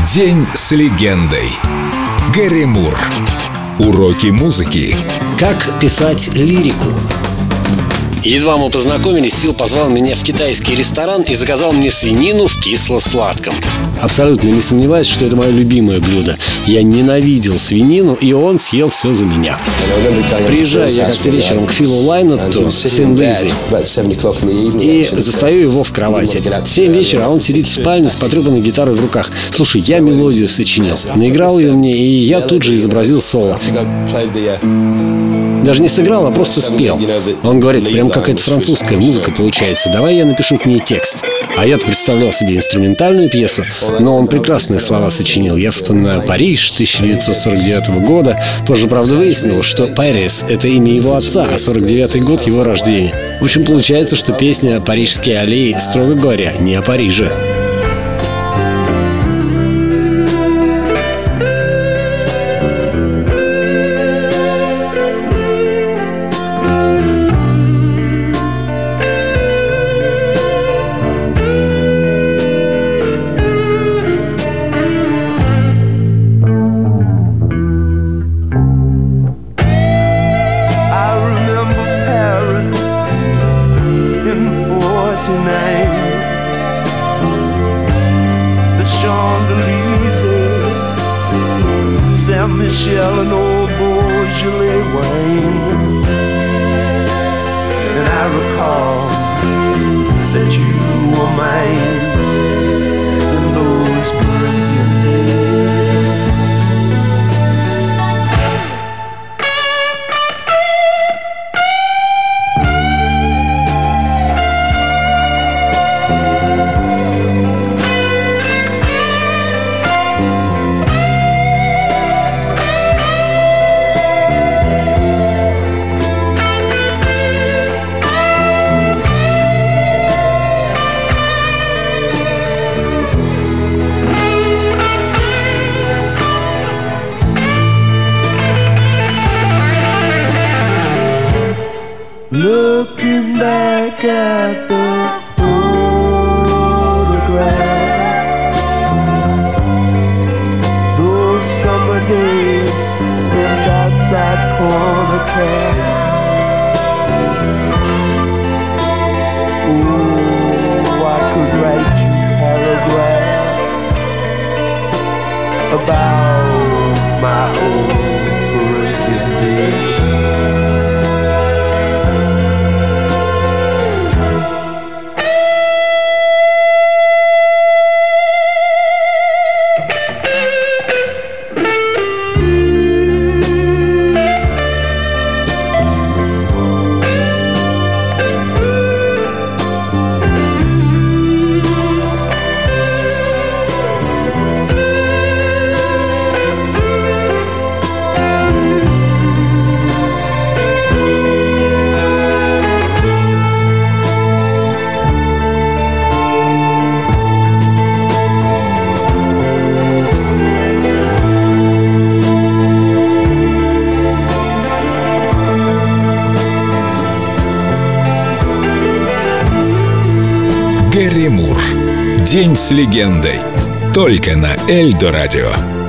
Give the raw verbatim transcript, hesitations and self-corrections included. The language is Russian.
День с легендой. Гэри Мур. Уроки музыки. Как писать лирику. Едва мы познакомились, Фил позвал меня в китайский ресторан и заказал мне свинину в кисло-сладком. Абсолютно не сомневаюсь, что это мое любимое блюдо. Я ненавидел свинину, и он съел все за меня. Приезжаю я как-то вечером к Филу Лайнетту, сын Лизи, и застаю его в кровати. В семь вечера, а он сидит в спальне с потрепанной гитарой в руках. Слушай, я мелодию сочинил, наиграл ее мне, и я тут же изобразил соло. Даже не сыграл, а просто спел. Он говорит, прям какая-то французская музыка получается. Давай я напишу к ней текст. А я-то представлял себе инструментальную пьесу, но он прекрасные слова сочинил. Я вспоминаю Париж тысяча девятьсот сорок девятого года. Позже, правда, выяснилось, что Парис — это имя его отца, а сорок девятый год — его рождения. В общем, получается, что песня «Парижские аллеи», строго говоря, не о Париже. The Champs-Élysées, Saint-Michel and old Beaujolais wine. And I recall that you were mine in those Parisian days. Looking back at the photographs, those summer days spent outside corner cafes. Oh, I could write you paragraphs about my old Parisian days. Гэри Мур. День с легендой. Только на Эльдо радио.